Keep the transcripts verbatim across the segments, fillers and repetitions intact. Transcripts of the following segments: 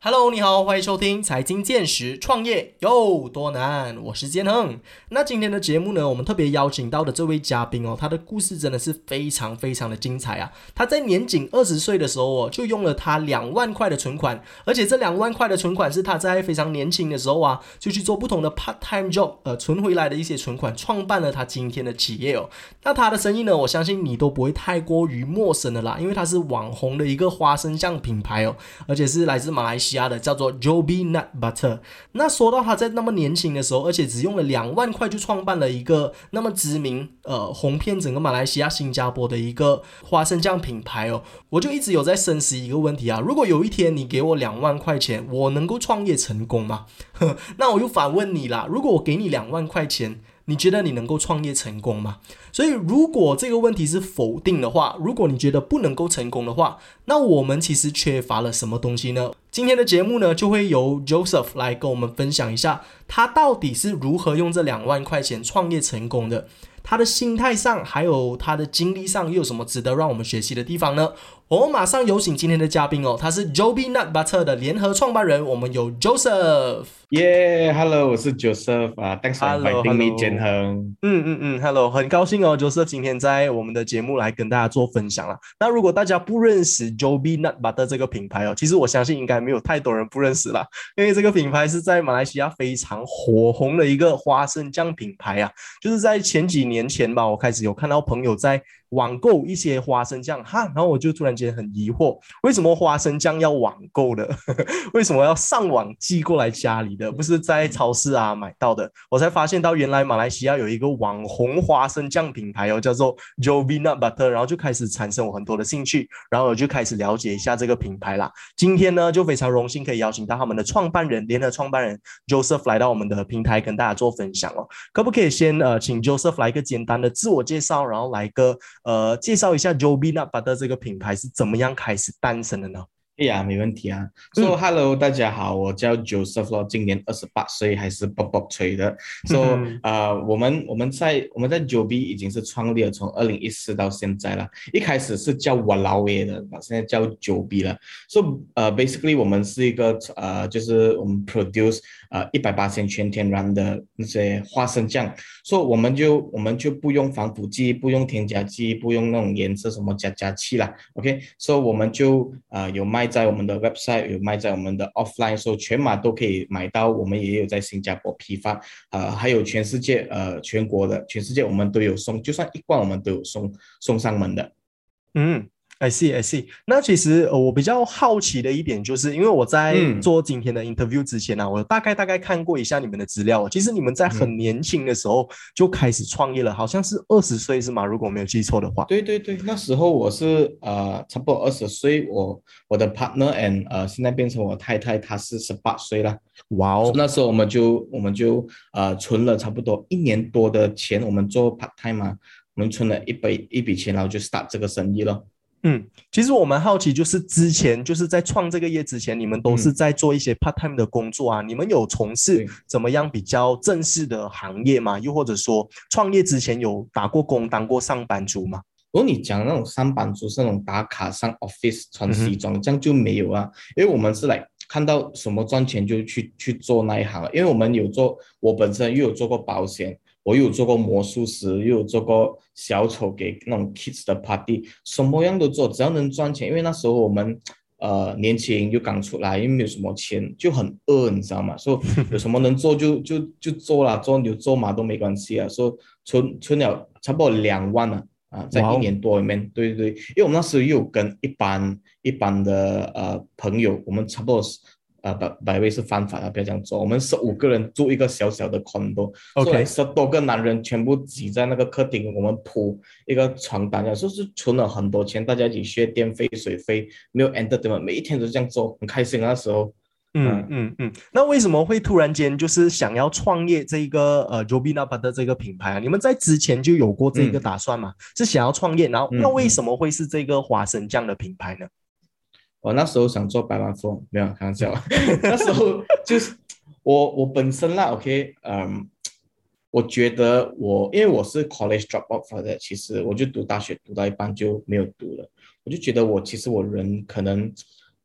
Hello，你好，欢迎收听财经见识，创业有多难？我是建亨。那今天的节目呢，我们特别邀请到的这位嘉宾哦，他的故事真的是非常非常的精彩啊！他在年仅二十岁的时候哦，就用了他两万块的存款，而且这两万块的存款是他在非常年轻的时候啊，就去做不同的 part time job，呃，存回来的一些存款，创办了他今天的企业哦。那他的生意呢，我相信你都不会太过于陌生的啦，因为他是网红的一个花生酱品牌哦，而且是来自马来西亚的，叫做 Joby Nut Butter。那说到他在那么年轻的时候，而且只用了两万块就创办了一个那么知名、呃红遍整个马来西亚、新加坡的一个花生酱品牌哦，我就一直有在深思一个问题啊：如果有一天你给我两万块钱，我能够创业成功吗？那我又反问你啦，如果我给你两万块钱，你觉得你能够创业成功吗？所以如果这个问题是否定的话，如果你觉得不能够成功的话，那我们其实缺乏了什么东西呢？今天的节目呢，就会由 Joseph 来跟我们分享一下，他到底是如何用这两万块钱创业成功的，他的心态上还有他的经历上又有什么值得让我们学习的地方呢？我们马上有请今天的嘉宾哦，他是 Joby Nut Butter 的联合创办人，我们有 Joseph。 耶 Hello，我是 Joseph 啊，Thanks for Hello inviting me， Hello。 建亨。 嗯嗯嗯，Hello，很高兴哦，Joseph 今天在我们的节目来跟大家做分享了。那如果大家不认识 Joby Nut Butter 这个品牌哦，其实我相信应该没有太多人不认识啦，因为这个品牌是在马来西亚非常火红的一个花生酱品牌啊。就是在前几年前吧，我开始有看到朋友在网购一些花生酱哈，然后我就突然间很疑惑，为什么花生酱要网购的？为什么要上网寄过来家里的，不是在超市啊买到的？我才发现到原来马来西亚有一个网红花生酱品牌哦，叫做 Joby Nut Butter， 然后就开始产生我很多的兴趣，然后我就开始了解一下这个品牌啦。今天呢，就非常荣幸可以邀请到他们的创办人，联合创办人 Joseph 来到我们的平台跟大家做分享哦。可不可以先呃请 Joseph 来一个简单的自我介绍，然后来一个呃介绍一下 Joby Nut Butter 这个品牌是怎么样开始诞生的呢？ 哎呀，没问题啊。So 嗯 Hello，大家好，我叫 Joseph 咯，今年二十八岁，还是 Bob Bob 吹的。So 呃，我们我们在我们在 Joby 已经是创立了，从二零一四到现在了。一开始是叫我老爷的，现在叫 Joby 了。So 呃，basically 我们是一个呃，就是我们 produce 呃一百八十全天然的那些花生酱。所以我们就我们就不用防腐剂，不用添加剂，不用那种颜色什么加加气啦。OK，所以我们就呃有卖在我们的 website，有卖在我们的 offline，所以全马都可以买到。我们也有在新加坡批发，呃，还有全世界呃全国的全世界我们都有送，就算一罐我们都有送送上门的。 嗯，I see I see。那其实呃，我比较好奇的一点就是，因为我在嗯做今天的 interview 之前呢、啊，我大概大概看过一下你们的资料。其实你们在很嗯。 年轻的时候就开始创业了，好像是二十岁是吗？如果我没有记错的话。 对对对，那时候我是呃差不多二十岁，我我的 partner and 呃现在变成我太太，她是十八岁了。 哇哦。 所以那时候我们就我们就呃存了差不多一年多的钱，我们做 part time 嘛，我们存了一笔一笔钱，然后就 start 这个生意了。 嗯，其实我蛮好奇，就是之前就是在创这个业之前，你们都是嗯， 在做一些 part time 的工作啊？你们有从事对。 怎么样比较正式的行业吗？又或者说创业之前有打过工、当过上班族吗？ 如果你讲那种上班族是那种打卡上 office 穿嗯哼。 西装，这样就没有啊，因为我们是来看到什么赚钱就去去做那一行了，因为我们有做，我本身又有做过保险，我又有做过魔术师，又有做过小丑给那种 kids 的 party，什么样都做，只要能赚钱。因为那时候我们呃年轻又刚出来，又没有什么钱，就很饿，你知道吗？所以有什么能做就就就做啦，做牛做马都没关系啊。说存存了差不多两万啊。啊，在哇哦。 一年多里面，对对对，因为我们那时候又有跟一般一般的呃朋友，我们差不多呃百百位是犯法的，不要这样做。我们十五个人住一个小小的 condo，所以来 OK。 十多个男人全部挤在那个客厅，我们铺一个床单，说是存了很多钱，大家一起削电费、水费，没有 entertainment，每一天都这样做，很开心啊那时候。 嗯嗯。 嗯嗯。那为什么会突然间就是想要创业这个呃 Joby Nut Butter 这个品牌啊？你们在之前就有过这个嗯打算吗？是想要创业，然后那嗯嗯。 为什么会是这个花生酱的品牌呢？ 我那时候想做百万富翁，没有开玩笑。那时候就是我我本身啦，OK，嗯，我觉得我因为我是 college dropout 的，其实我就读大学读到一半就没有读了，我就觉得我其实我人可能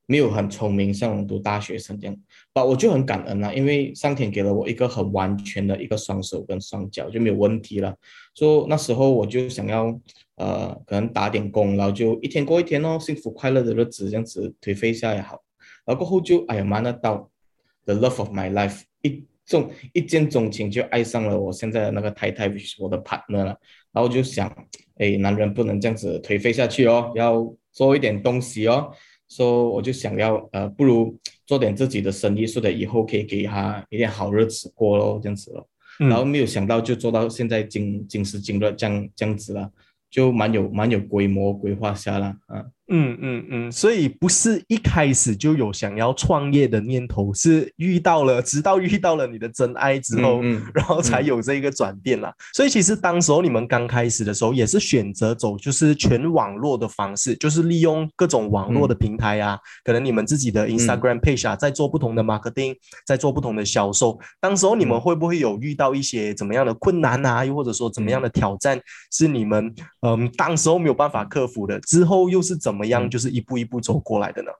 没有很聪明，像我们读大学生这样，但我就很感恩啦，因为上天给了我一个很完全的一个双手跟双脚，就没有问题了。所以那时候我就想要，呃，可能打点工，然后就一天过一天哦，幸福快乐的日子这样子颓废一下也好。然后过后就哎呀妈，那到 the love of my life 一中一见钟情就爱上了我现在的那个太太，我的 partner 了。然后就想，哎，男人不能这样子颓废下去哦，要做一点东西哦。所以我就想要呃，不如做点自己的生意，说的以后可以给他一点好日子过咯，这样子咯。然后嗯。 没有想到就做到现在今今时今日这样这样子了，就蛮有蛮有规模规划下了啊。 嗯嗯嗯，所以不是一开始就有想要创业的念头，是遇到了，直到遇到了你的真爱之后， 嗯嗯然后才嗯有这个转变啦。所以其实当时候你们刚开始的时候，也是选择走就是全网络的方式，就是利用各种网络的嗯平台啊，可能你们自己的嗯 Instagram page 啊，在做不同的 marketing，在做不同的销售。当时候你们嗯会不会有遇到一些怎么样的困难啊，又或者说怎么样嗯的挑战，是你们嗯当时候没有办法克服的？之后又是怎么样， 嗯就是一步一步走过来的呢？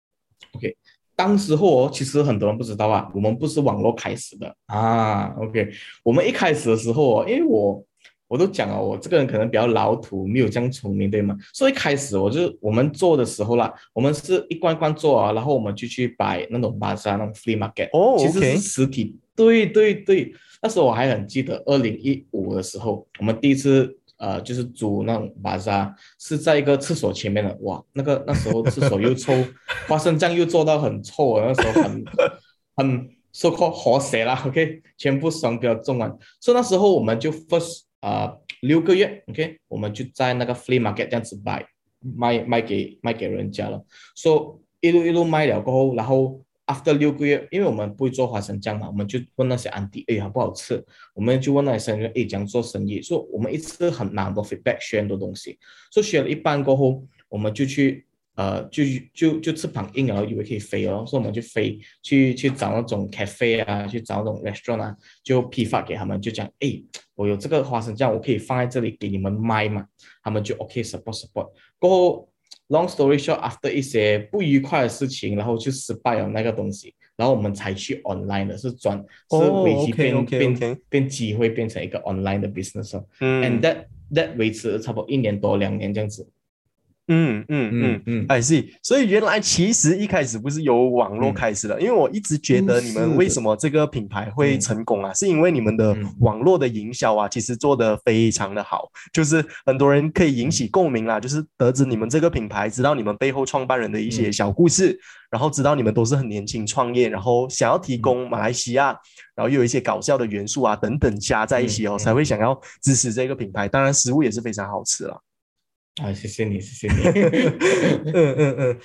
，OK。当时候哦，其实很多人不知道啊，我们不是网络开始的啊。OK，我们一开始的时候哦，因为我我都讲了，我这个人可能比较老土，没有这样聪明，对吗？所以一开始我就我们做的时候啦，我们是一关关做啊，然后我们就去摆那种巴萨那种 flea market， 哦其实是 ，OK， 实体。对对对，那时候我还很记得，二零一五的时候，我们第一次呃就是租那种巴萨，是在一个厕所前面的，哇，那个那时候厕所又臭，花生酱又做到很臭啊，那时候很很 so called 活血啦，OK，全部双标中完，所以那时候我们就 first 啊、呃、六个月，OK，我们就在那个 flea market 这样子卖卖卖给卖给人家了，所以一路一路卖了过后，然后 after 六个月，因为我们不会做花生酱嘛，我们就问那些安迪，哎，好不好吃？我们就问那些生意，哎，怎样做生意？所以我们一直很拿很多 feedback，学很多东西，所以学了一半过后，我们就去。呃，就就就翅膀硬了，以为可以飞哦，所以我们就飞去去找那种 cafe 啊，去找那种 restaurant 啊，就批发给他们，就讲，哎，我有这个花生酱，我可以放在这里给你们卖嘛，他们就 OK support support。过后 long story short，after 一些不愉快的事情，然后就失败了那个东西，然后我们才去 online 的，是转是危哦机变变 ，OK，OK，OK， 变机会变成一个 online 的 business 哦，and 嗯。 that that 维持了差不多一年多两年这样子。 嗯嗯嗯嗯嗯 ，I see。所以原来其实一开始不是由网络嗯， 开始的，因为我一直觉不得你们为什是的。 么这个品牌会嗯成功啊，是因为你们的嗯网络的营销啊，其实做得非常的好，就是很多人可以引起嗯共鸣啦，就是得知你们这个品牌，知道你们背后创办人的一些嗯小故事，然后知道你们都是很年轻创业，然后想要提嗯供马来西亚，然后又有一些搞笑的元素啊等等加在一起哦，才嗯嗯， 会想要支持这个品牌。当然，食物也是非常好吃啦。 啊，谢谢你，谢谢你。 嗯嗯嗯，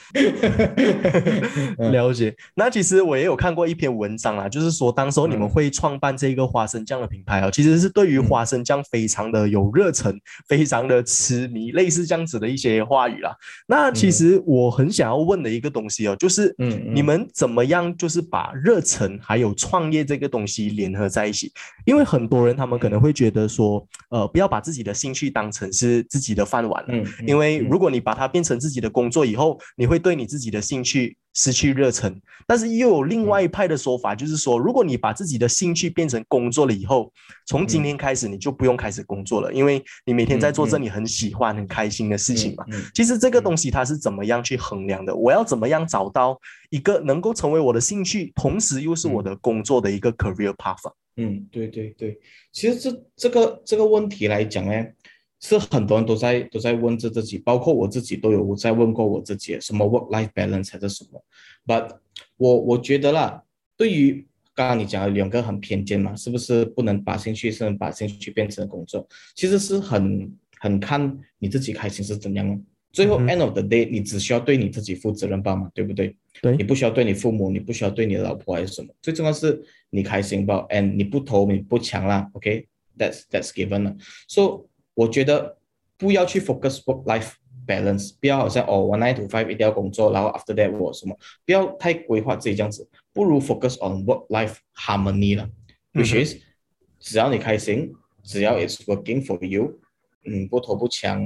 嗯了解。那其实我也有看过一篇文章啦，就是说当时候你们嗯会创办这个花生酱的品牌哦，其实是对于嗯花生酱非常的有热忱，非常的痴迷，类似这样子的一些话语啦。那其嗯实我很想要问的一个东西哦，就是嗯嗯你们怎么样就是把热忱还有创业这个东西联合在一起？因为很多人他们可能嗯会觉得说，呃，不要把自己的兴趣当成是自己的饭碗了。 嗯因为如嗯果你把它变成自己的工作以后，你会对你自己的兴趣失去热忱。但是又有另外嗯一派的说法，就是说，如果你把自己的兴趣变成工作了以后，从今嗯天开始你就不用开始工作了，因为你每天在做着你很喜欢、很开心的事情嘛。 嗯嗯其实这个东嗯西它是怎么样去衡量的？我要怎么样找到一个能够成为我的兴趣，同时又是我的工作的一个 career path 啊？ 嗯，对对对，其实这这个这个问题来讲呢，是很多人都在都在问着自己，包括我自己都有在问过我自己，什么 work-life balance 还是什么。But 我我觉得啦，对于刚刚你讲的两个很偏见嘛，是不是不能把兴趣，是能把兴趣变成工作？其实是很很看你自己开心是怎样的。最后嗯哼， end of the day，你只需要对你自己负责任吧嘛，对不对？你对， 不需要对你父母，你不需要对你的老婆还是什么，最重要是你开心吧，and 你不投你不抢啦，OK，that's that's given 了。So 我觉得不要去 focus work life balance，不要好像哦我 nine to five 一定要工作，然后 after that 我什么，不要太规划自己这样子，不如 focus on work life harmony 了，which 嗯哼， is 只要你开心，只要 it's working for you，嗯，不投不抢，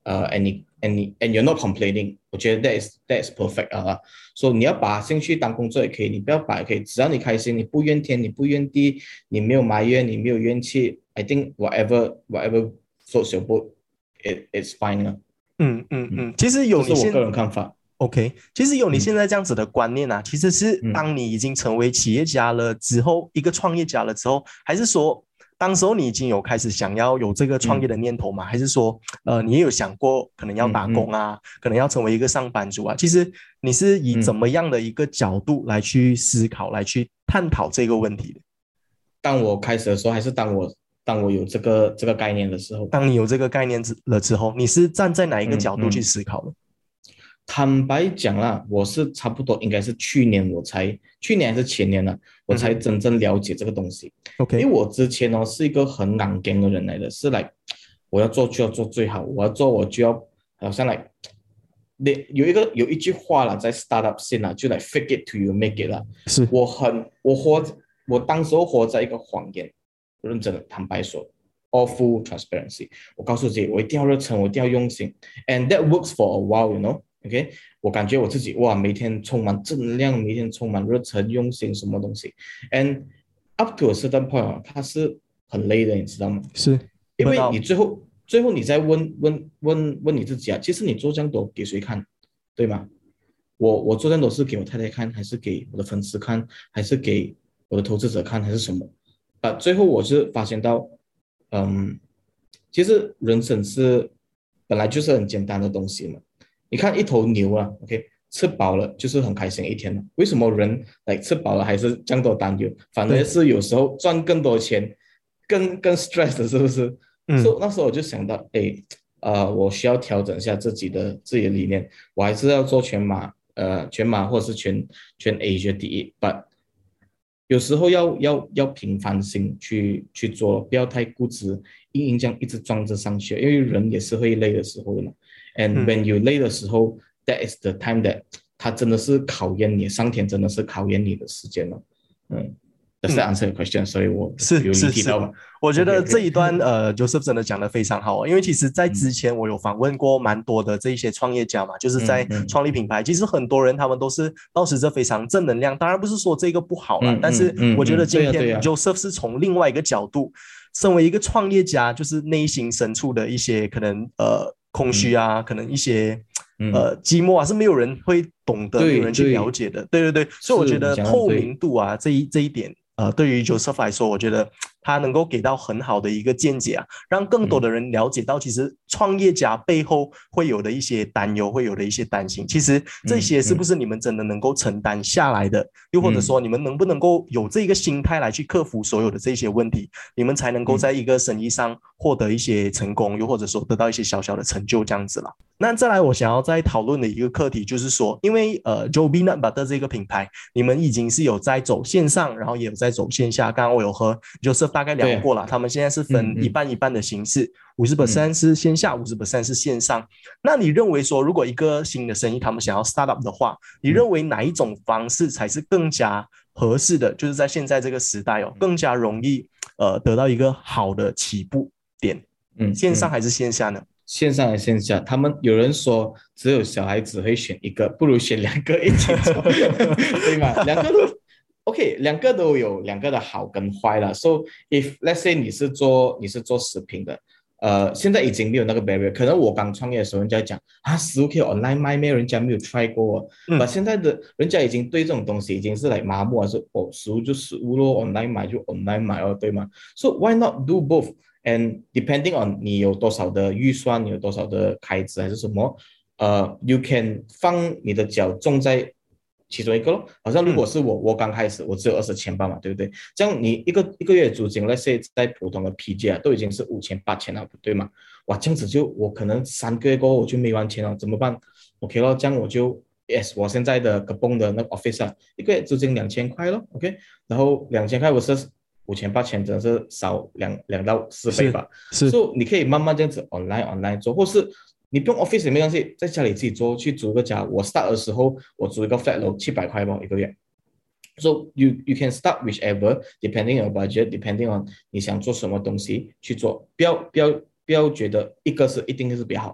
呃，and 你 and 你 and you're not complaining，我觉得 that is that is perfect 啊。所以你要把兴趣当工作也可以，你不要把也可以，只要你开心，你不怨天，你不怨地，你没有埋怨，你没有怨气，I think whatever whatever floats your boat，it it's fine 啊。 嗯嗯嗯， 嗯，其实有你现这是我个人看法。 OK，其实有你嗯现在这样子的观念啊，其实是嗯当你已经成为企业家了之后，一个创业家了之后，还是说当时候你已经有开始想要有这个创业嗯的念头吗？还是说，呃，你也有想过可能要打工嗯嗯啊，可能要成为一个上班族啊？其实你是以怎嗯， 么样的一个角度来去思考、来去探讨这个问题的？ 当我开始的时候，还是当我当我有这个这个概念的时候， 当你有这个概念之了之后，你是站在哪一个角度去嗯嗯。 思考的坦白讲啦，我是差不多应该是去年我才，去年还是前年呢，我才嗯哼真正了解这个东西。因 ？OK， 为我之前哦是一个很硬劲的人来的，是来我要做就要做最好，我要做我就要好像来，那有一个有一句话啦，在 startup 线啦，就来 fake it to you make it 啦。 是我很我活我当时候活在一个谎言，认真的坦白说，all full transparency。我告诉自己，我一定要热忱，我一定要用心，and that works for a while，you know。OK，我感觉我自己哇，每天充满正能量，每天充满热忱、用心，什么东西？And up to a certain point，它是很累的，你知道吗？ 是， 因为你不到， 最后最后你在问问问问你自己啊，其实你做这样多给谁看，对吗？我我做这样多是给我太太看，还是给我的粉丝看，还是给我的投资者看，还是什么？啊，最后我是发现到，嗯，其实人生是本来就是很简单的东西嘛。你看一头牛啊，OK，吃饱了就是很开心一天了。为什么人来吃饱了还是这样多担忧？反而对， 是有时候赚更多钱，更更 stress 的，是不是？所以嗯那时候我就想到，哎，呃，我需要调整一下自己的自己的理念，我还是要做全马，呃，全马或者是全全 Asia 第一，but 有时候要要要平凡心去去做，不要太固执，硬硬这样一直装着上去，因为人也是会累的时候的嘛。And 嗯。 when you 累的时候，that is the time that 它真的是考验你，上天真的是考验你的时间了。嗯，Does that 嗯， answer your question？所以我是有离是是， 题到吧我觉 ？OK 得这 OK， 一段呃，Joseph 真的讲的非常好哦，因为其实在之嗯前我有访问过蛮多的这一些创业家嘛，就是在嗯嗯创立品牌，其实很多人他们都是保持着非常正能量，当然不是说这个不好啦， 嗯但是嗯嗯我觉得嗯，对今天呀对呀， Joseph 是从另外一个角度，身为一个创业家，就是内心深处的一些可能呃空虚嗯啊，可能一些。 嗯， 呃，寂寞啊，是没有人会懂得，没有人去了对对， 解的。对对对，所以我觉是你得透讲的对， 明度啊，这一这一点呃，对于 Joseph 来说，我觉得他能够给到很好的一个见解啊，让更多嗯的人了解到，其实创业家背后会有的一些担忧，会有的一些担心，其实这些是不嗯嗯是你们真的能够承担下来的？又或者嗯说，你们能不能够有这个心态来去克服所有的这些问题，你们才能够嗯在一个生意上获得一些成功，又或者说得到一些小小的成就，这样子啦。那再来，我想要再讨论的一个课题就是说，因为呃，Joby Nut Butter 这个品牌，你们已经是有在走线上，然后也有在走线下。刚刚我有和 Joseph 大概聊对呀， 过了，他们现在是分一嗯嗯半一半的形式，五十嗯 percent 是线下，五十 percent 是线上。那你认为说，如果一个新的生意他们想要 start up 的话，你嗯认为哪一种方式才是更加合适的？就是在现在这个时代哦，更加容易呃得到一个好的起步点， 嗯嗯。 线上还是线下呢？ 线上和线下，他们有人说只有小孩子会选一个，不如选两个一起做，对吗？两个都 OK，两个都有两个的好跟坏了。So if let's say 你是做你是做食品的，呃，现在已经没有那个 barrier。可能我刚创业的时候，人家讲啊，食物可以 online 卖咩？人家没有 try 过、哦。把嗯现在的人家已经对这种东西已经是来麻木了，是哦，食物就食物咯，online 买就 online 买哦，对吗？So why not do both？And depending on 你有多少的预算，你有多少的开支还是什么，呃，you can 放你的脚重在其中一个咯。好像如果嗯是我，我刚开始我只有二十千吧嘛，对不对？这样你一个一个月租金，let's say 在普通的 P J 啊，都已经是五千八千了，对吗？哇，这样子就我可能三个月过后我就没完钱了，怎么办？OK 咯，这样我就 yes，我现在的 Kepong 的那个 office 啊，一个月租金两千块咯 ，OK，然后两千块我是。五千八千真的是少两两到四倍吧， 是所以你可以慢慢这样子 online online 做，或是你不用 office 也没关系，在家里自己做，去租个家。我 start 的时候，我租一个 flat 楼七百块吧一个月。So you you can start whichever depending on your budget, depending on 你想做什么东西去做，不要不要不要觉得一个是一定是比较好。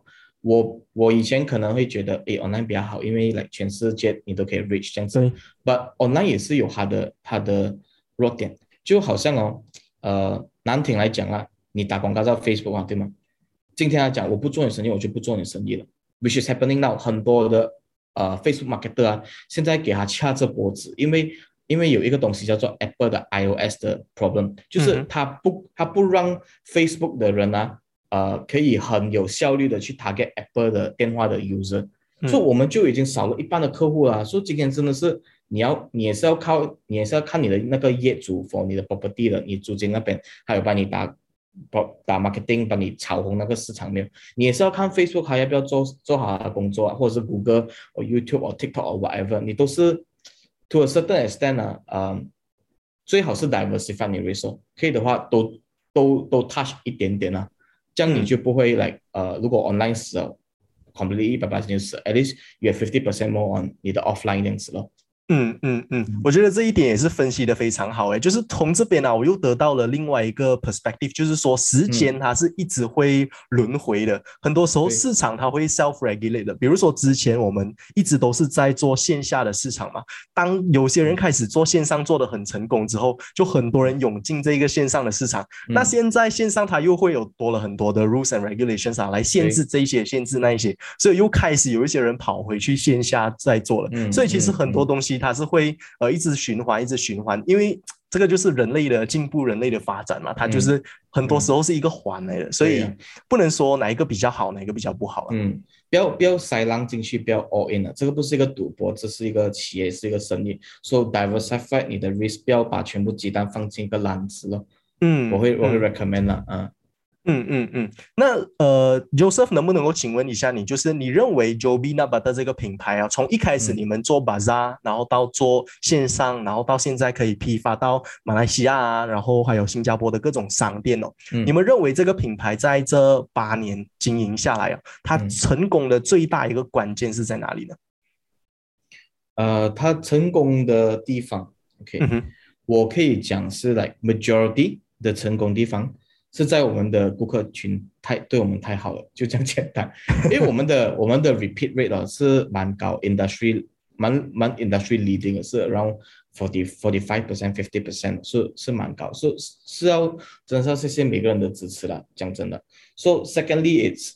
我我以前可能会觉得，诶 online 比较好，因为 like 全世界你都可以 reach 这样子。But online 也是有它的它的弱点，就好像哦，呃，难听来讲啊，你打广告在 Facebook 啊，对吗？今天来讲，我不做你生意，我就不做你生意了。Which is happening now， 很多的呃 Facebook marketer 啊，现在给他掐着脖子，因为因为有一个东西叫做 Apple 的 iOS 的 problem， 就是他不他不让 Facebook 的人啊。呃，可以很有效率的去 target Apple 的电话的 user，、嗯、所以我们就已经少了一半的客户了。所以今天真的是你要，你也是要靠，你也是要看你的那个业主 for 你的 property 的，你租金那边还有帮你打打 marketing， 帮你炒红那个市场面，你也是要看 Facebook 还要不要做做好他的工作啊，或者是 Google 或 YouTube 或 TikTok 或 whatever， 你都是 to a certain extent 啊，呃，最好是 diversify 你 resource， 可以的话都都都 touch 一点点啊。这样你就不会 like 呃，如果 online 死了 ，completely 一百八十就死 ，at least you have fifty percent more on 你的 offline 这样子咯。 嗯嗯嗯，我觉得这一点也是分析的非常好诶，就是从这边啊，我又得到了另外一个 perspective， 就是说时间它是一直会轮回的，嗯、很多时候市场它会 self-regulate 的。比如说之前我们一直都是在做线下的市场嘛，当有些人开始做线上做得很成功之后，就很多人涌进这个线上的市场。嗯、那现在线上它又会有多了很多的 rules and regulations 啊，来限制这一些，限制那一些，所以又开始有一些人跑回去线下再做了。嗯、所以其实很多东西它是会呃一直循环，一直循环，因为这个就是人类的进步，人类的发展嘛，它就是很多时候是一个环来的，嗯、所以不能说哪一个比较好，哪一个比较不好了。 嗯，不要不要塞浪进去，不要 all in 了，这个不是一个赌博，这是一个企业，是一个生意。So diversify 你的 risk， 不要把全部鸡蛋放进一个篮子了。嗯，我会我会 recommend 啦，嗯。 嗯嗯嗯，那呃 ，Joseph 能不能够请问一下你，就是你认为 Joby Naba 的这个品牌啊，从一开始你们做 Bazaar，、嗯、然后到做线上，然后到现在可以批发到马来西亚啊，然后还有新加坡的各种商店哦，嗯、你们认为这个品牌在这八年经营下来啊，它成功的最大一个关键是在哪里呢？ 呃，它成功的地方 ，OK，、嗯、我可以讲是 like majority 的成功地方。是在我们的顾客群太对我们太好了，就这样简单。因为我们的我们的 repeat rate 啊是蛮高 ，industry 蛮蛮 industry leading 的是 around forty forty five percent fifty percent 是是蛮高，是是要真的是要谢谢每个人的支持啦，讲真的。So secondly it's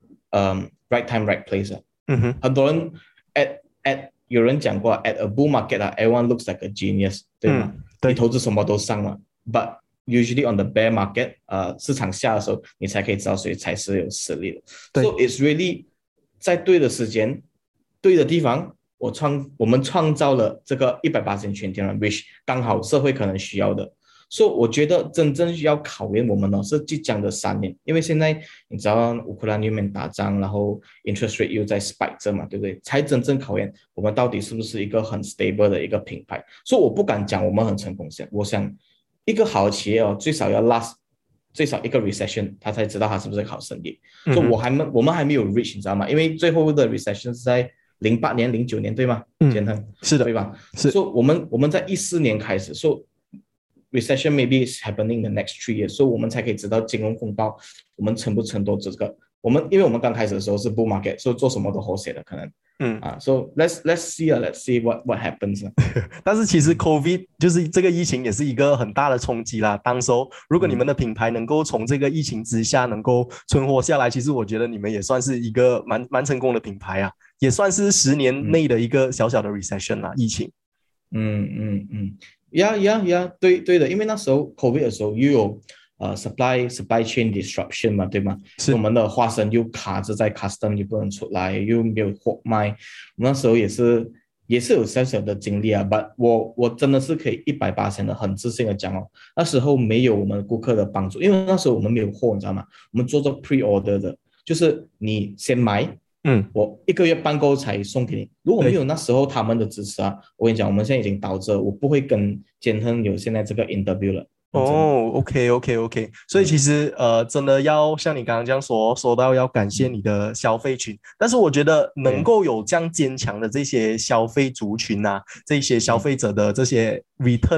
um right time right place 啊，嗯哼，很多人 at at 有人讲过 at a bull market 啊 ，everyone looks like a genius， 对吗？嗯、对，你投资什么都上了 ，but usually on the bear market， 呃，市场下的时候，你才可以知道谁才是有实力的。So it's really 在对的时间、对的地方，我创我们创造了这个一百八十全天然 ，which 刚好社会可能需要的。所以、so, 我觉得真正要考验我们呢是即将的三年，因为现在你知道乌克兰那边打仗，然后 interest rate 又在 spike 着嘛，对不对？才真正考验我们到底是不是一个很 stable 的一个品牌。所以、so, 我不敢讲我们很成功，我想。一个好的企业哦，最少要 last 最少一个 recession， 他才知道他是不是好生意。所以、嗯 so, 我还没我们还没有 reach， 你知道吗？因为最后的 recession 是在零八年、零九年，对吗？建亨、嗯、 是的， 对吧？ 是。 所以、so, 我们我们在一四年开始，说、so, recession maybe is happening the next three years， 所以、so, 我们才可以知道金融风暴我们撑不撑多这个。我们因为我们刚开始的时候是 bull market， 所以做什么都好写的可能。嗯啊 ，so let's let's see 啊 ，let's see what what happens 但是其实 COVID 就是这个疫情也是一个很大的冲击啦。当时候如果你们的品牌能够从这个疫情之下能够存活下来，其实我觉得你们也算是一个蛮蛮成功的品牌啊，也算是十年内的一个小小的 recession 啦，疫情。 嗯嗯嗯，呀呀呀，对对的，因为那时候 COVID 的时候又有。呃 ，supply supply chain disruption 嘛，对吗？是我们的花生又卡着在 custom， 又不能出来，又没有货卖。我们那时候也是也是有小小的经历啊， but 我我真的是可以一百八十的很自信的讲哦，那时候没有我们顾客的帮助，因为那时候我们没有货，你知道吗？我们做做 pre order 的，就是你先买，嗯，我一个月半购才送给你。如果没有那时候他们的支持啊，我跟你讲，我们现在已经倒着，我不会跟建亨有现在这个 interview 了。 哦 ，OK OK OK， 所以其实呃，真的要像你刚刚这样说，说到要感谢你的消费群，但是我觉得能够有这样坚强的这些消费族群啊，这些消费者的这些 return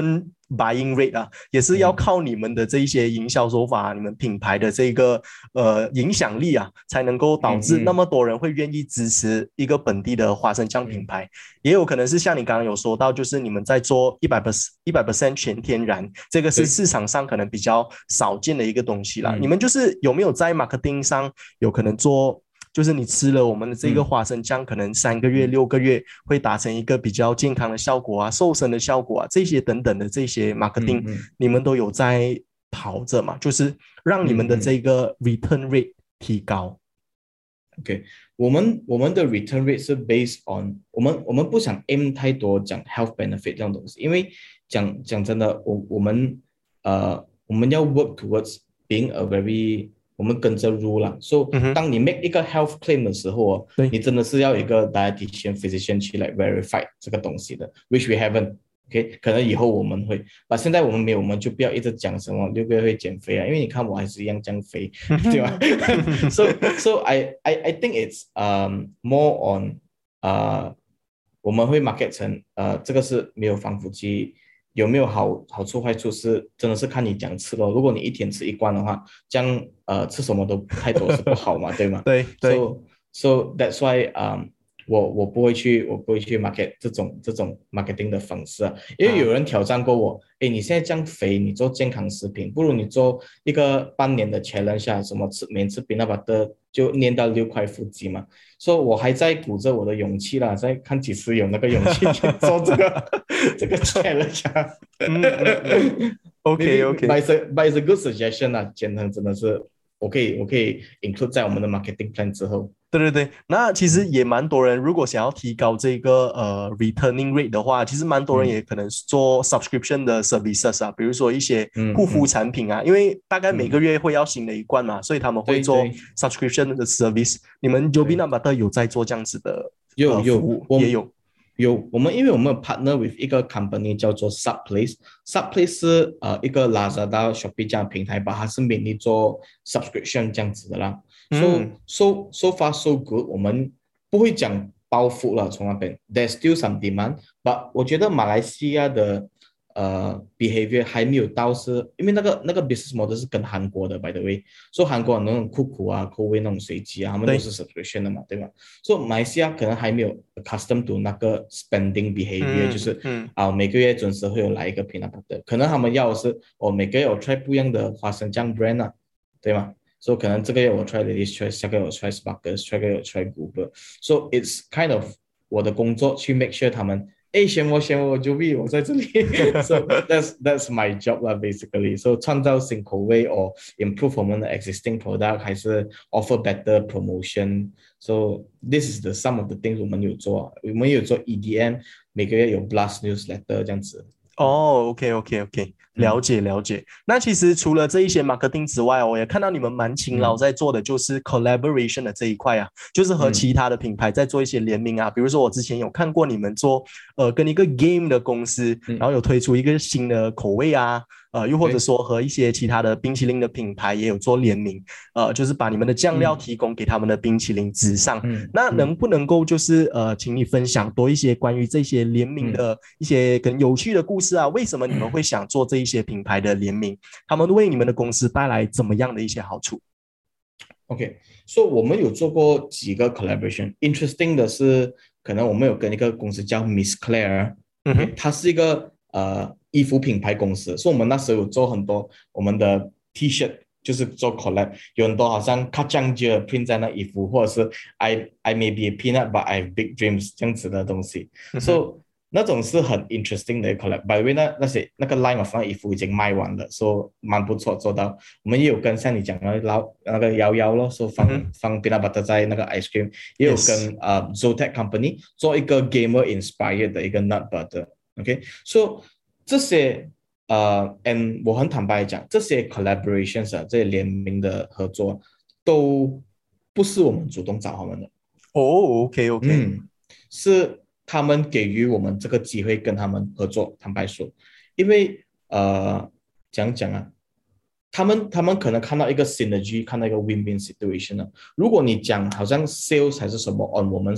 buying rate 啊，也是要靠你们的这一些营销手法、嗯、你们品牌的这个呃影响力啊，才能够导致那么多人会愿意支持一个本地的花生酱品牌。嗯、也有可能是像你刚刚有说到，就是你们在做一百 percent 一百 percent 全天然，这个是市场上可能比较少见的一个东西啦。你们就是有没有在 marketing 上有可能做？就是你吃了我们的这个花生酱，嗯、可能三个月、六个月会达成一个比较健康的效果啊、瘦身的效果啊，这些等等的这些 marketing，、嗯嗯、你们都有在跑着嘛？就是让你们的这个 return rate 提高。 OK， 我们我们的 return rate 是 based on 我们我们不想 aim 太多讲 health benefit 这种东西，因为讲讲真的，我我们呃我们要 work towards being a very我们跟着 rule 啦，所、so, 以、嗯、当你 make 一个 health claim 的时候哦，你真的是要有一个 dietitian physician 去来 verify 这个东西的 ，which we haven't。OK， 可能以后我们会，但现在我们没有，我们就不要一直讲什么六个月会减肥啊，因为你看我还是一样这样肥，对吧？So so I I I think it's um more on 呃、uh, 我们会 market 成呃这个是没有防腐剂。有没有好好处坏处是真的是看你讲吃咯。如果你一天吃一罐的话，这样呃吃什么都太多是不好嘛，对吗？ 对对。 So so that's why um 我我不会去我不会去 market 这种这种 marketing 的方式啊，因为有人挑战过我，哎、啊，你现在这样肥，你做健康食品，不如你做一个半年的 challenge 啊，什么吃每次 peanut butter 就练到六块腹肌嘛。所以我还在鼓着我的勇气啦，在看几时有那个勇气去做这个这个 challenge 啊。嗯嗯嗯、 OK OK， but it's a, but it's a good suggestion 啊，减糖真的是我可以我可以 include 在我们的 marketing plan 之后。 对对对，那其实也蛮多人，如果想要提高这个呃 returning rate 的话，其实蛮多人也可能做 subscription 的 services 啊，比如说一些护肤产品啊，嗯嗯、因为大概每个月会要新的一罐嘛，嗯、所以他们会做 subscription 的 service。你们 Joby Nut Butter 有在做这样子的有有、呃、 服务，也有。 有，我们因为我们 partner with 一个 company 叫做 Subplace，Subplace 是呃一个 Lazada、Shopee 这样的平台吧，它是 mainly 做 subscription 这样子的啦。嗯、so so so far so good， 我们不会讲包袱了，从那边 there's still some demand，but 我觉得马来西亚的呃 behavior 还没有到是，因为那个那个 business model 是跟韩国的 by the way， 所以韩国那种酷酷啊、口味那种随机啊，他们都是 subscription 的嘛，对吧？所以马来西亚可能还没有 accustomed to 那个 spending behavior，、嗯、就是嗯啊每个月准时会有来一个 peanut butter， 可能他们要的是哦每个月我 try 不一样的花生酱 brand 啊，对吗？所以可能这个月我 try Lady's Choice， 下个月我 try Sparkers， 下个月我 try Google，so it's kind of 我的工作去 make sure 他们。哎，选我选我 Joby， 我在这里。So that's that's my job 啦 ，basically. So 创造新口味或 improve 我们的 existing product， 还是 offer better promotion. So this is the some of the things 我们有做，我们有做 E D M， 每个月有 blast newsletter 这样子。 哦 ，OK OK OK， 了解了解。嗯、那其实除了这一些 marketing 之外，我也看到你们蛮勤劳在做的，就是 collaboration 的这一块啊，就是和其他的品牌在做一些联名啊。嗯、比如说我之前有看过你们做呃跟一个 game 的公司，嗯、然后有推出一个新的口味啊。呃，又或者说和一些其他的冰淇淋的品牌也有做联名，呃，就是把你们的酱料提供给他们的冰淇淋之上。嗯、那能不能够就是呃，请你分享多一些关于这些联名的一些跟有趣的故事啊？为什么你们会想做这一些品牌的联名？他们为你们的公司带来怎么样的一些好处 ？OK， 所、so 以我们有做过几个 collaboration。Interesting 的是，可能我们有跟一个公司叫 Miss Claire， 嗯哼，它是一个呃。衣服品牌公司，所以我们那时候有做很多我们的 T-shirt， 就是做 collab， 有很多好像卡酱就 print 在那衣服，或者是 I I may be a peanut but I have big dreams 这样子的东西，嗯、所以那种是很 interesting 的 collab。By the way， 那那些那个 line of 那衣服已经卖完了，所以蛮不错做到。我们也有跟像你讲的老那个摇摇咯，说放、嗯、放 peanut butter 在那个 ice cream， 也有跟呃、uh, Zotac Company 做一个 gamer inspired 的一个 nut butter。OK，so这些呃 ，and 我很坦白讲，这些 collaborations 啊，这些联名的合作，都不是我们主动找他们的。 哦、oh, ，OK OK， 嗯，是他们给予我们这个机会跟他们合作。坦白说，因为呃，讲讲啊，他们他们可能看到一个 synergy， 看到一个 win-win situation 啊。如果你讲好像 sales 还是什么 on 我们 side，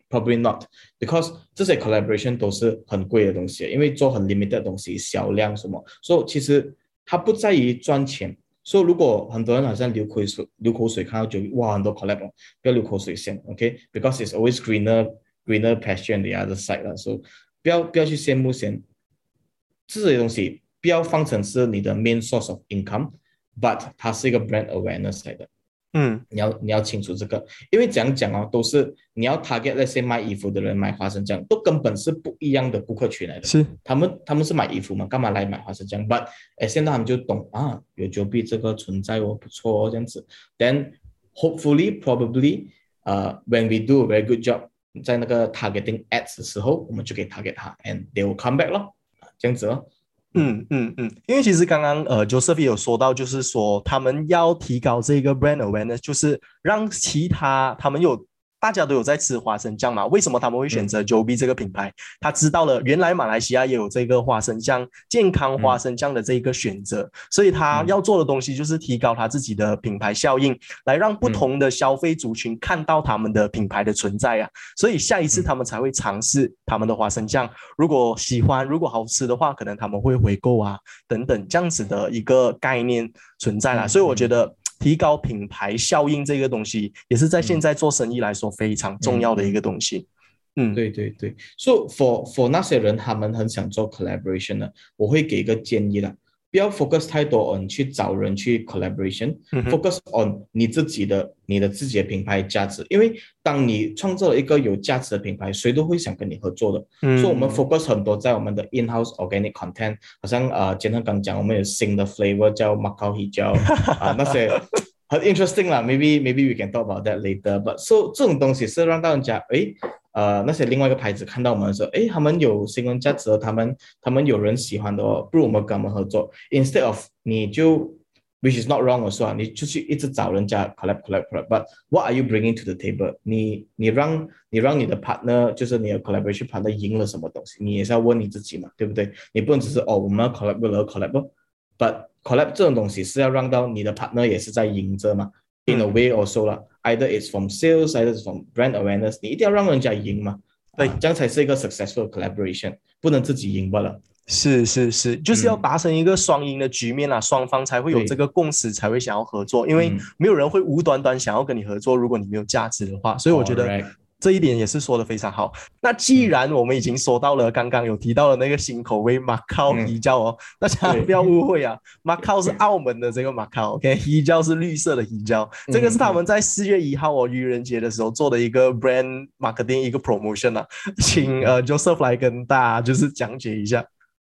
Probably not, because 这些 collaboration 都是很贵的东西，因为做很 limited 的东西，销量什么，所以其实它不在于赚钱。所以如果很多人好像流口水，流口水看到就哇很多 collab， 不要流口水先 ，OK？Because、okay? it's always greener greener pasture on the other side 了，所以不要不要去羡慕先，这些东西不要放成是你的 main source of income，but 它是一个 brand awareness 来的。 嗯， 你要你要清楚这个，因为讲讲哦，都是你要 target 那些卖衣服的人买花生酱，都根本是不一样的顾客群来的。 是， 他们他们是买衣服嘛，干嘛来买花生酱 ？But 哎，现在他们就懂啊，有 Joby 这个存在哦，不错哦，这样子。Then hopefully probably 呃、uh, when we do a very good job 在那个 targeting ads 的时候，我们就可以 target 他 ，and they will come back 咯，这样子哦。 嗯嗯嗯，因为其实刚刚呃 Joseph 也有说到，就是说他们要提高这个 brand awareness， 就是让其他他们有大家都有在吃花生酱嘛，为什么他们会选择 Joby 这个品牌？他知道了原来马来西亚也有这个花生酱健康花生酱的这个选择，嗯、所以他要做的东西就是提高他自己的品牌效应，来让不同的消费族群看到他们的品牌的存在啊，所以下一次他们才会尝试他们的花生酱，如果喜欢如果好吃的话，可能他们会回购啊等等这样子的一个概念存在啦，所以我觉得提高品牌效应这个东西也是在现在做生意来说非常重要的一个东西。 嗯，对对对，所以 for for 那些人他们很想做 collaboration 呢，我会给一个建议啦，不要 focus 太多 on 去找人去 collaboration、嗯、focus on 你自己的你的自己的品牌价值，因为当你创造了一个有价值的品牌，谁都会想跟你合作的。嗯、所以我们 focus 很多在我们的 in-house organic content， 好像呃，简单刚讲，我们有新的 flavor 叫 Macau Hijau 啊，那些很 interesting 啦 ，maybe maybe we can talk about that later。But so 这种东西是让到人家诶。呃，那些另外一个牌子看到我们的时候，诶，他们有新闻价值，他们他们有人喜欢的哦，不如我们跟他们合作。Instead of 你就 ，which is not wrong 我说啊，你就去一直找人家 collab collab collab，but what are you bringing to the table？ 你你让你让你的 partner， 就是你的 collaboration partner 赢了什么东西？你也是要问你自己嘛，对不对？你不能只是哦，我们要 collab 为了 collab，but collab 这种东西是要让到你的 partner 也是在赢着嘛。In a way also 啦 ，either it's from sales, either it's from brand awareness， 你一定要让人家赢嘛，对、啊，这样才是一个 successful collaboration， 不能自己赢罢了。 是是是，就是要达成一个双赢的局面啊，双、嗯、方才会有这个共识，才会想要合作，因为没有人会无端端想要跟你合作，如果你没有价值的话，所以我觉得。这一点也是说的非常好。那既然我们已经说到了，刚刚有提到了那个新口味马靠啤酒哦，大家不要误会啊，马靠是澳门的这个马靠 ，OK， 啤酒是绿色的啤酒，这个是他们在四月一号哦愚人节的时候做的一个 brand marketing 一个 promotion 啊，请呃 Joseph 来跟大家就是讲解一下。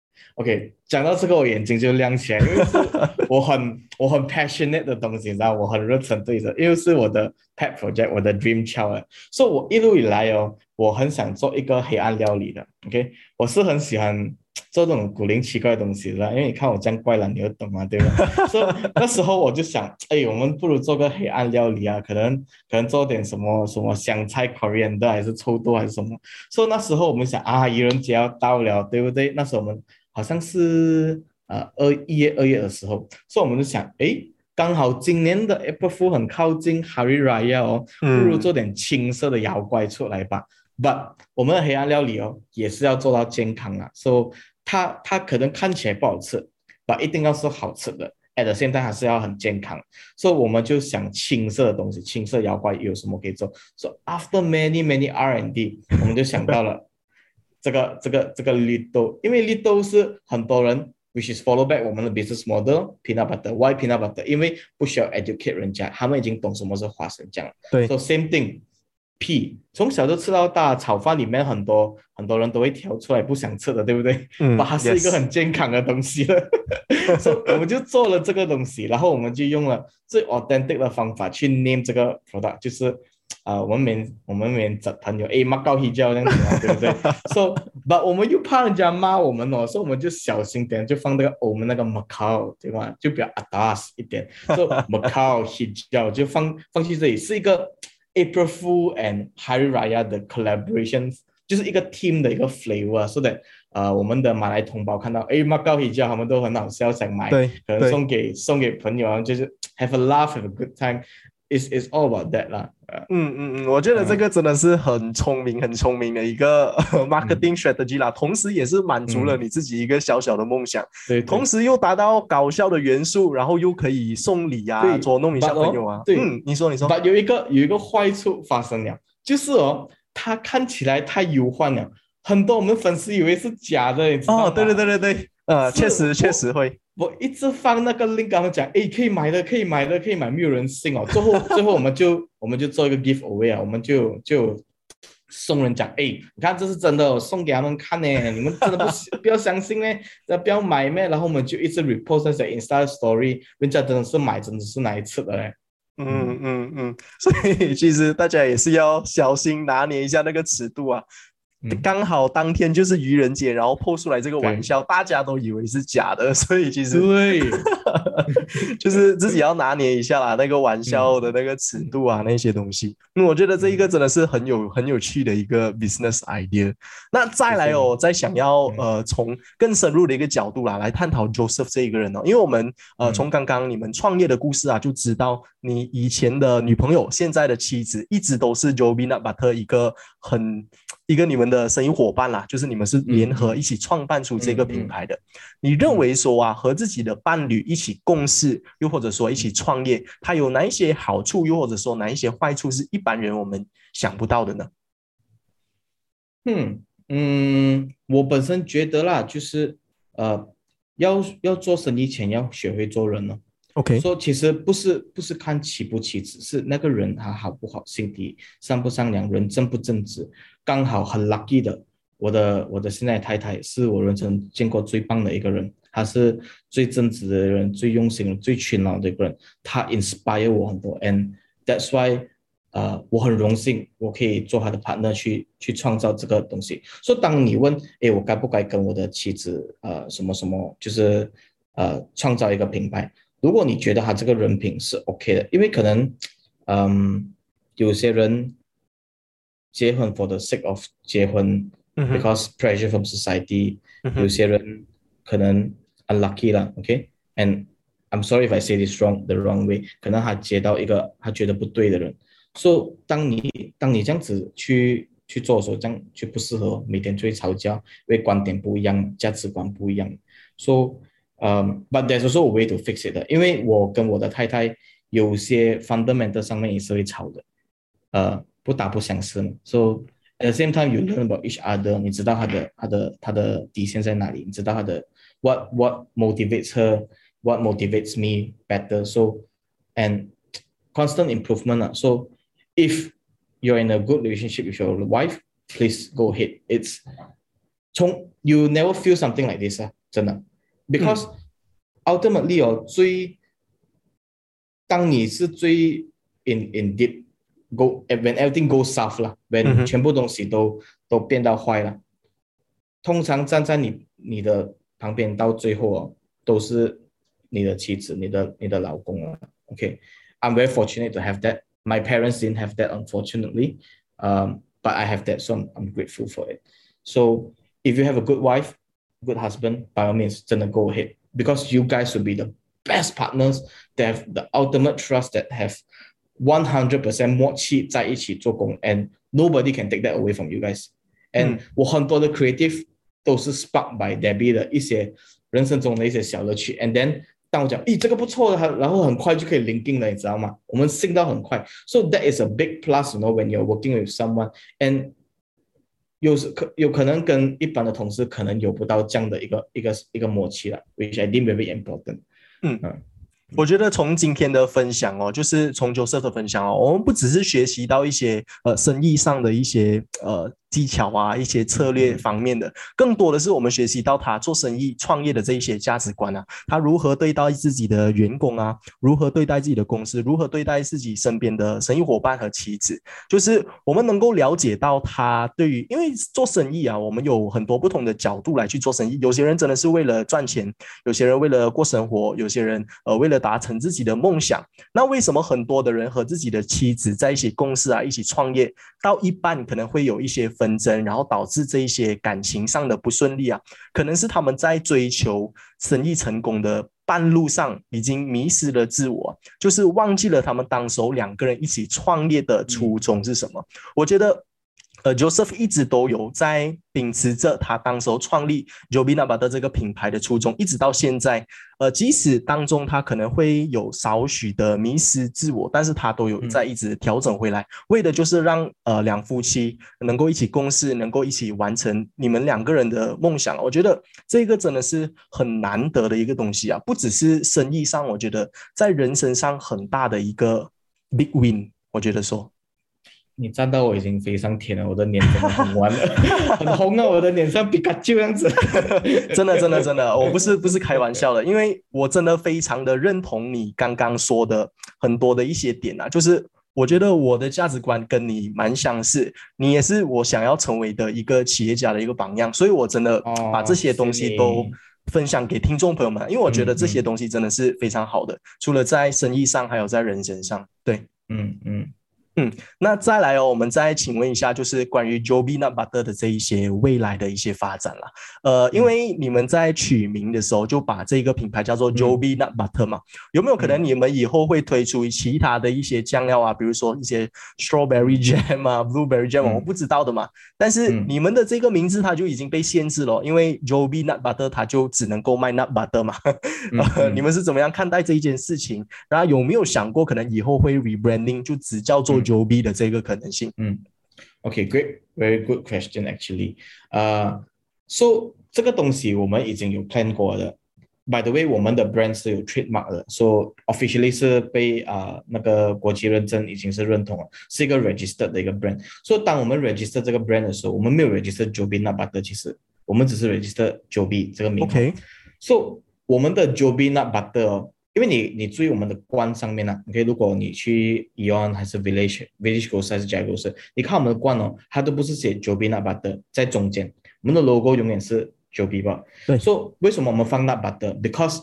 OK， 讲到这个我眼睛就亮起来，因为是我很我很 passionate 的东西，你知道，我很热忱对着，因为是我的 pet project， 我的 dream child， 所以我一路以来哦，我很想做一个黑暗料理的 ，OK， 我是很喜欢做这种古灵奇怪的东西的，因为你看我这样怪懒，你就懂嘛，对吧？所以那时候我就想，哎，我们不如做个黑暗料理啊，可能可能做点什么什么香菜 coriander 还是臭豆还是什么，所以那时候我们想啊，愚人节要到了，对不对？那时候我们好像是呃二一月二月的时候，所以我们就想，哎，刚好今年的 April Fool 很靠近 Hari Raya 哦，不如做点青色的妖怪出来吧。嗯、But 我们的黑暗料理哦，也是要做到健康啊，所以它它可能看起来不好吃 ，but 一定要是好吃的。at the same time 还是要很健康，所以我们就想青色的东西，青色妖怪有什么可以做？ So after many many R and D， 我们就想到了。这个这个这个绿豆，因为绿豆是很多人 which is follow back 我们的 business model peanut butter why peanut butter 因为不需要 educate 人家，他们已经懂什么是花生酱了。对 so same thing P 从小就吃到大，炒饭里面很多很多人都会挑出来不想吃的，对不对？嗯，它是一个很健康的东西了。所以我们就做了这个东西，然后我们就用了最 authentic 的方法去 name 这个 product， 就是啊、呃，我们免我们免找朋友，哎，马高黑椒这样子嘛，对不对？So， but 我们又怕人家骂我们哦，所以我们就小心点，就放那个我们那个马高，对吧？就比较 atas 一点，所以马高黑椒就放放去这里，是一个 April Fool and Hari Raya 的 collaboration， 就是一个 team 的一个 flavor，so that 呃，我们的马来同胞看到，哎，马高黑椒，他们都很好笑，想买，可能送给送给朋友啊，就是 have a laugh，have a good time。 it's it's all about that 啦。 嗯嗯嗯，我觉得这个真的是很聪明、很聪明的一个 marketing strategy 啦，同时也是满足了你自己一个小小的梦想， 对， 同时又达到搞笑的元素，然后又可以送礼啊，捉弄一下朋友啊。 对， 嗯，你说你说。 但有一个有一个坏处发生了，就是哦，它看起来太优幻了，很多我们粉丝以为是假的，你知道吗？ 哦，对对对对对，呃，确实确实会。 我一直放那个 link 跟他们讲，哎，可以买的，可以买的，可以买，没有人信哦。最后最后我们就我们就做一个 giveaway 啊，我们就就送人讲，哎，你看这是真的，送给他们看呢，你们真的不不要相信呢，不要买咩？然后我们就一直 repost 那些 Insta story， 人家真的是买，真的是哪一次的嘞？ 嗯嗯嗯，所以其实大家也是要小心拿捏一下那个尺度啊。刚好当天就是愚人节，然后破出来这个玩笑，大家都以为是假的，所以其实对， 就是自己要拿捏一下啦，那个玩笑的那个尺度啊，那些东西。嗯，我觉得这一个真的是很有很有趣的一个 business idea。那再来哦，再想要呃从更深入的一个角度啦来探讨 Joseph 这一个人哦，因为我们呃从刚刚你们创业的故事啊，就知道你以前的女朋友，现在的妻子，一直都是 Joe Peanut Butter 一个很。一个你们的生意伙伴啦，就是你们是联合一起创办出这个品牌的。嗯嗯、你认为说啊，和自己的伴侣一起共事，又或者说一起创业，它有哪一些好处，又或者说哪一些坏处是一般人我们想不到的呢？ 嗯嗯，我本身觉得啦，就是呃，要要做生意前要学会做人哦。 OK， 说其实不是不是看起不起，只是那个人他好不好，心底善不善良，人正不正直。刚好很 lucky 的，我的我的现在太太是我人生见过最棒的一个人，她是最正直的人，最用心、最勤劳的一个人，她 inspire 我很多 ，and that's why 呃我很荣幸我可以做她的 partner 去去创造这个东西。所以当你问，诶，我该不该跟我的妻子呃什么什么，就是呃创造一个品牌？如果你觉得他这个人品是 OK 的，因为可能，嗯，有些人结婚 for the sake of 结婚、嗯、，because pressure from society，、嗯、有些人可能 unlucky 啦 ，OK，and、okay? I'm sorry if I say this wrong the wrong way， 可能他接到一个他觉得不对的人，所以当你当你这样子去去做的时候，这样就不适合，每天就会吵架，因为观点不一样，价值观不一样，所以。Um, but there's also a way to fix it 的，因为我跟我的太太有些 fundamental 上面也是会吵的，呃，不打不相识嘛。So at the same time you learn about each other， 你知道他的他的他的底线在哪里，你知道他的 what what motivates her, what motivates me better. So and constant improvement 啊。So if you're in a good relationship with your wife, please go ahead. It's 从 you never feel something like this 啊，真的。Because ultimately 哦，最当你是最 in in deep go when everything goes south 啦 ，when 全部东西都都变到坏了，通常站在你你的旁边到最后哦，都是你的妻子、你的你的老公啊。OK，I'm very fortunate to have that. My parents didn't have that, unfortunately. Um, but I have that, so I'm, I'm grateful for it. So if you have a good wife, good husband, by all means, 真的 go ahead, because you guys will be the best partners that have the ultimate trust, that have one hundred percent 默契在一起做工 and nobody can take that away from you guys. And、嗯、我很多的 creative 都是 sparked by Debbie 的一些人生中的一些小乐趣 and then 当我讲咦这个不错的，然后很快就可以 linking 了，你知道吗？我们 sync 到很快， so that is a big plus, you know, when you're working with someone. And有可有可能跟一般的同事可能有不到这样的一个一个一个默契了 ，which I think very important。 嗯嗯，我觉得从今天的分享哦，就是从 Joseph 的分享哦，我们不只是学习到一些呃生意上的一些呃技巧啊，一些策略方面的，更多的是我们学习到他做生意创业的这一些价值观啊，他如何对待自己的员工啊，如何对待自己的公司，如何对待自己身边的生意伙伴和妻子，就是我们能够了解到他对于，因为做生意啊，我们有很多不同的角度来去做生意，有些人真的是为了赚钱，有些人为了过生活，有些人呃为了达成自己的梦想。那为什么很多的人和自己的妻子在一起共事啊，一起创业，到一半可能会有一些纷争，然后导致这一些感情上的不顺利啊，可能是他们在追求生意成功的半路上已经迷失了自我，就是忘记了他们当时候两个人一起创业的初衷是什么。嗯、我觉得呃 Joseph 一直都有在秉持着他当时候创立 Joby Nut Butter 这个品牌的初衷，一直到现在。呃，即使当中他可能会有少许的迷失自我，但是他都有在一直调整回来，嗯、为的就是让呃两夫妻能够一起共事，能够一起完成你们两个人的梦想。我觉得这个真的是很难得的一个东西啊，不只是生意上，我觉得在人生上很大的一个 big win， 我觉得说。 你站到我已经飞上天了，我的脸真的红完了，很红啊，我的脸像皮卡丘这样子。 真的真的真的，我不是不是开玩笑的，因为我真的非常的认同你刚刚说的很多的一些点啊，就是我觉得我的价值观跟你蛮相似，你也是我想要成为的一个企业家的一个榜样，所以我真的把这些东西都分享给听众朋友们，因为我觉得这些东西真的是非常好的，嗯嗯、除了在生意上，还有在人生上，对， 嗯嗯。 嗯，那再来哦，我们再请问一下，就是关于 Joby Nut Butter 的这一些未来的一些发展啦。呃，因为你们在取名的时候就把这个品牌叫做 Joby Nut Butter 嘛，有没有可能你们以后会推出其他的一些酱料啊，比如说一些 Strawberry Jam 啊、Blueberry Jam 啊，我不知道的嘛。但是你们的这个名字它就已经被限制了，因为 Joby Nut Butter 它就只能够卖 Nut Butter 嘛。呃，你们是怎么样看待这一件事情？然后有没有想过可能以后会 rebranding 就只叫做Joby 的这个可能性？ 嗯 ，OK, great, very good question actually. 呃、uh, ，so 这个东西我们已经有 plan 过的。By the way, 我们的 brand 是有 trademark 的 ，so officially 是被啊、呃、那个国际认证，已经是认同了，是一个 registered 的一个 brand。所以当我们 register 这个 brand 的时候，我们没有 register Joby Nut Butter， 其实我们只是 register Joby 这个名号。 OK， so 我们的 Joby Nut Butter 哦。因为你你注意我们的罐上面呢、啊、，OK， 如果你去 Eon 还是 Village Village Grocer 还是 Jaya Grocer， 你看我们的罐哦，它都不是写 Joby Nut Butter 在中间，我们的 logo 永远是 Joby 吧。 对。 所以为什么我们放 Nut Butter？Because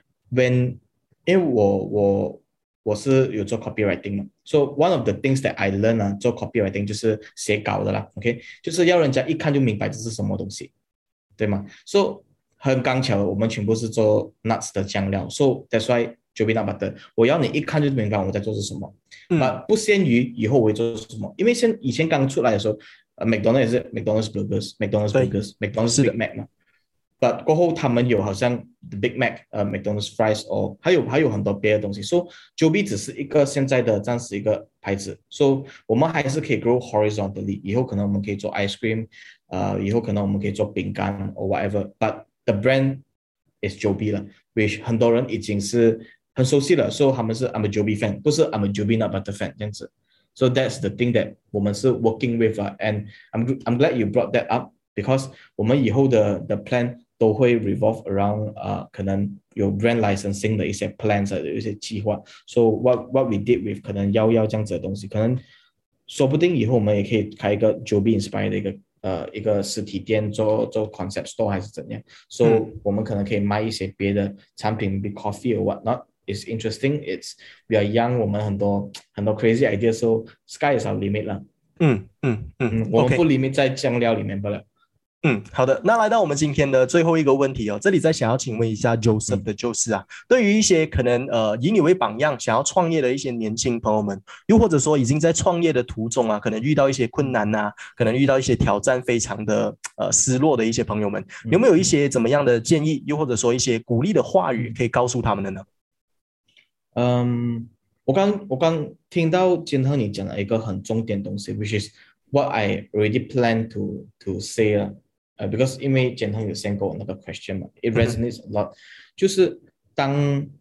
when 因为我我我是有做 copywriting 嘛，所以 one of the things that I learn 啊，做 copywriting 就是写稿的啦 ，OK， 就是要人家一看就明白这是什么东西，对吗？所以很刚巧，我们全部是做 nuts 的酱料 ，so that's why Joby Nut Butter， 我要你一看就明白我在做是什么，嗯、不限于以后我会做什么，因为现以前刚出来的时候，呃 ，McDonald's 也是 McDonald's Burgers，McDonald's Burgers，McDonald's Big Mac 嘛 ，but 过后他们有好像 The Big Mac， 呃 ，McDonald's Fries， 哦，还有还有很多别的东西，所以 Joby 只是一个现在的暂时一个牌子，所以我们还是可以 grow horizontally， 以后可能我们可以做 ice cream， 呃，以后可能我们可以做饼干 or whatever，but the brand is Joby 了 ，which 很多人已经是很熟悉了，所以他们是 I'm a Joby fan， 不是 I'm a Joby Nut Butter fan 这样子。So that's the thing that 我们是 working with 啊 ，and I'm I'm glad you brought that up because 我们以后的的 plan 都会 revolve around 啊、呃，可能有 brand licensing 的一些 plans 的一些计划。So what what we did with 可能幺幺这样子的东西，可能说不定以后我们也可以开一个 Joby inspired 的一个。呃，一个实体店做做 concept store 还是怎样 ，so、嗯、我们可能可以卖一些别的产品 ，be coffee or what not。It's interesting. It's we are young. 我们很多很多 crazy ideas，so sky is our limit 啦。 嗯嗯嗯， 我们不 limit 在酱料里面不了。 嗯，好的，那来到我们今天的最后一个问题哦，这里再想要请问一下 Joseph 的就是啊，嗯、对于一些可能呃以你为榜样想要创业的一些年轻朋友们，又或者说已经在创业的途中啊，可能遇到一些困难呐、啊，可能遇到一些挑战，非常的呃失落的一些朋友们，有没有一些怎么样的建议，又或者说一些鼓励的话语可以告诉他们的呢？ 嗯，我刚我刚听到建和你讲了一个很重点的东西 ，which is what I already plan to to say 了。呃、uh, ，because 因为建恒有 send 过我那个 question 嘛 ，it resonates a lot，、嗯、就是当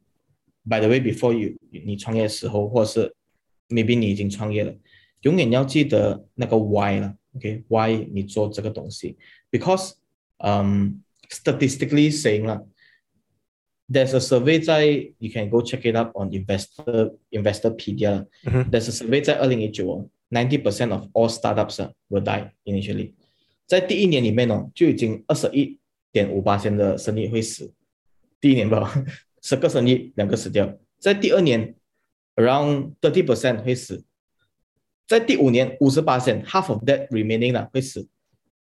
by the way before you 你创业的时候，或者是 maybe 你已经创业了，永远要记得那个 why 了 ，OK，why、okay? 你做这个东西 ，because 嗯、um, statistically saying 了 ，there's a survey 在 you can go check it up on investor investorpedia，、嗯、there's a survey 在二零一九哦 ，ninety percent of all startups will die initially。在第一年里面哦，就已经二十一点五八千的生意会死。第一年吧，十个生意两个死掉。在第二年 ，around thirty percent 会死。在第五年五十八千 ，half of that remaining 啦会死。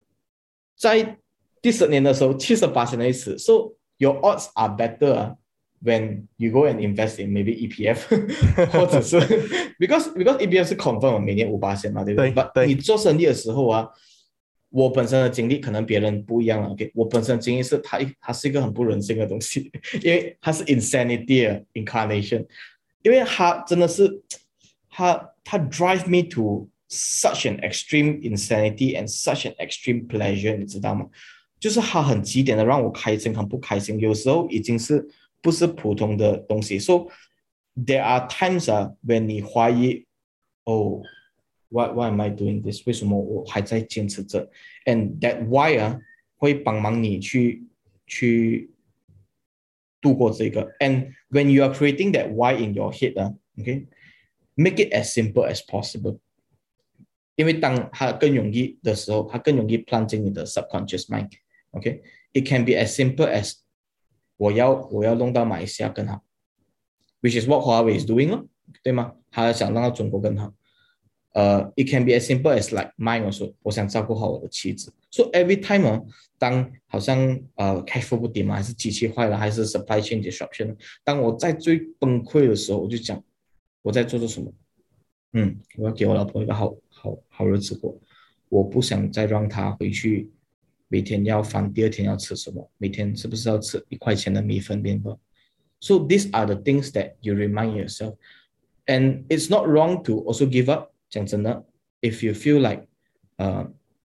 在第十年的时候，七十八千会死。So your odds are better 啊。 when you go and invest in maybe E P F 或者是 because because E P F 是 confirm 每年五巴仙嘛，对不对？ 对 But 对你做生意的时候啊，我本身的经历可能别人不一样了。OK， 我本身的经历是它它是一个很不人性的东西，因为它是 insanity incarnation， 因为它真的是它它 drive me to such an extreme insanity and such an extreme pleasure， 你知道吗？就是它很极点的让我开心，很不开心，有时候已经是不是普通的东西。So there are times 啊 when 你怀疑，哦 why why am I doing this？ 为什么我还在坚持着 ？And that why 啊会帮忙你去去度过这个。And when you are creating that why in your head 啊 ，OK，make it as simple as possible。因为当它更容易的时候，它更容易 plant 进你的 subconscious mind。OK，it can be as simple as 我要我要弄到马来西亚更好 ，which is what Huawei is doing 咯，对吗？他想让到中国更好。呃、uh, ，it can be as simple as like mine also， 我想照顾好我的妻子。So every time 哦，当好像呃 cash flow 不点嘛，还是机器坏了，还是 supply chain disruption， 当我在最崩溃的时候，我就讲我在做着什么。嗯，我要给我老婆一个好好好日子过，我不想再让她回去。每天要翻第二天要吃什么，每天是不是要吃一块钱的米粉面包 So these are the things that you remind yourself. And it's not wrong to also give up. 讲真的 if you feel like uh,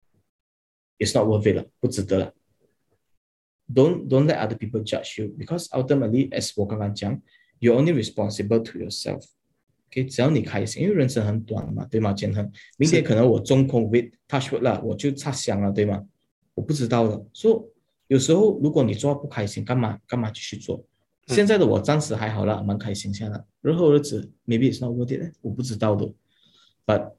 it's not worth it 了，不值得了。Don't, don't let other people judge you because ultimately, as 我刚刚讲 you're only responsible to yourself. Okay, 只要你开心，因为人生很短嘛，对吗？建恒，明天可能我中 COVID touch wood 了，我就插香了，对吗？我不知道的，所以有时候如果你做不开心，干嘛干嘛继续做？现在的我暂时还好啦，蛮开心下来。日后日子 maybe it's not worth it， 我不知道的。But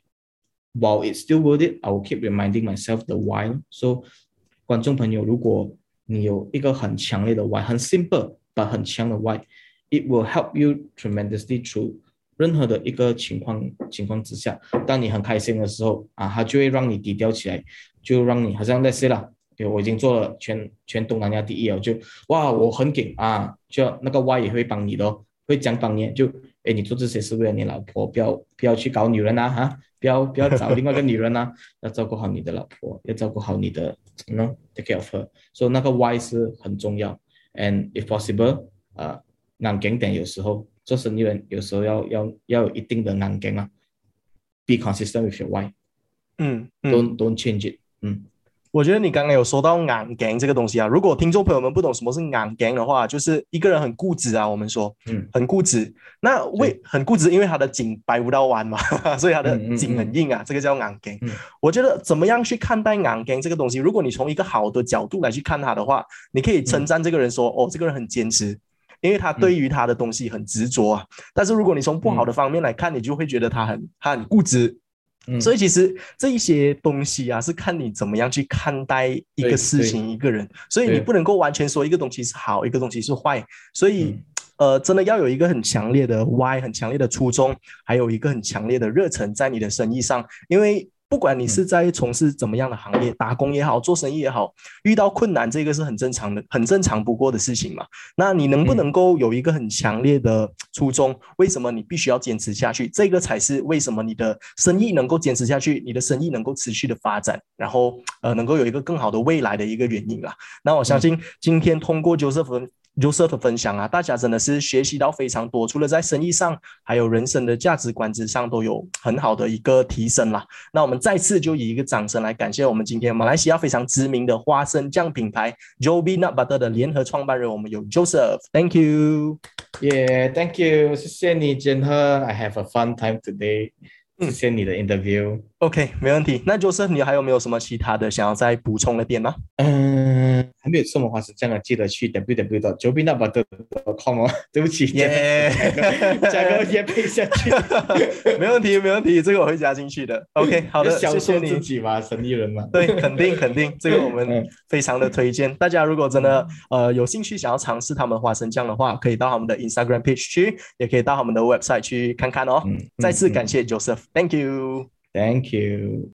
while it's still worth it, I will keep reminding myself the why. So 观众朋友，如果你有一个很强烈的 why， 很 simple but 很强的 why， it will help you tremendously through 任何的一个情况情况之下。当你很开心的时候啊，它就会让你低调起来。就让你好像 let's say 啦，我已经做了全全东南亚第一了，就哇我很劲啊，就那个 Y 也会帮你的、哦，会讲帮你，就哎你做这些是为了你老婆，不要不要去搞女人啊哈，不要不要找另外一个女人啊，要照顾好你的老婆，要照顾好你的 you know take care of her， 所以那个 Y 是很重要 ，and if possible， 呃，硬劲点有时候做生意人有时候要要要有一定的硬劲啊 ，be consistent with your why， 嗯, 嗯 ，don't don't change it。嗯， 我觉得你刚刚有说到硬頸這個東西啊，如果聽眾朋友們不懂什麼是硬頸的話，就是一個人很固執啊，我們說，嗯，很固執。那為很固執，因為他的頸掰不到彎嘛，所以他的頸很硬啊，嗯嗯嗯，這個叫硬頸。嗯，我覺得怎麼樣去看待硬頸這個東西？如果你從一個好的角度來去看它的話，你可以稱讚這個人說，嗯，哦，這個人很堅持，因為他對於他的東西很執着啊。但是如果你從不好的方面來看，你就會覺得他很他很固執。嗯，所以其實這一些東西啊，是看你怎麼樣去看待一個事情，一個人，所以你不能夠完全說一個東西是好，一個東西是壞，所以，嗯，呃，真的要有一個很強烈的 why， 很強烈的初衷，還有一個很強烈的熱忱在你的生意上，因為不管你是在從事怎麼樣的行業，打工也好，做生意也好，遇到困難，這個是很正常的，很正常不過的事情嘛。那你能不能夠有一個很強烈的初衷，為什麼你必須要堅持下去？這個才是為什麼你的生意能夠堅持下去，你的生意能夠持續的發展，然後呃能夠有一個更好的未來的一個原因啦。那我相信今天通過 Joseph Joseph 的分享啊，大家真的是學習到非常多，除了在生意上，還有人生的價值觀之上都有很好的一個提升啦。那我們再次就以一個掌聲來感謝我們今天馬來西亞非常知名的花生醬品牌 Joby Nut Butter 的聯合創辦人，我們有 Joseph。Thank you。 Yeah, thank you。謝謝你，建亨。I have a fun time today。謝謝你的 interview。OK， 沒問題。那 Joseph，你還有沒有什麼其他的想要再補充的點嗎？ 嗯，還沒有什麼話是這樣的，記得去 double-u double-u double-u dot joby nut butter dot com 哦。對不起， 耶， 加個業配下去。 沒問題，沒問題，這個我會加進去的。OK， 好的，謝謝你。 自己嘛，生意人嘛。 對，肯定肯定，這個我們非常的推薦。大家如果真的呃有興趣想要嘗試他們花生醬的話，可以到他們的 Instagram page 去，也可以到他們的 website 去看看哦。嗯，再次感謝 Joseph。Thank you. Thank you.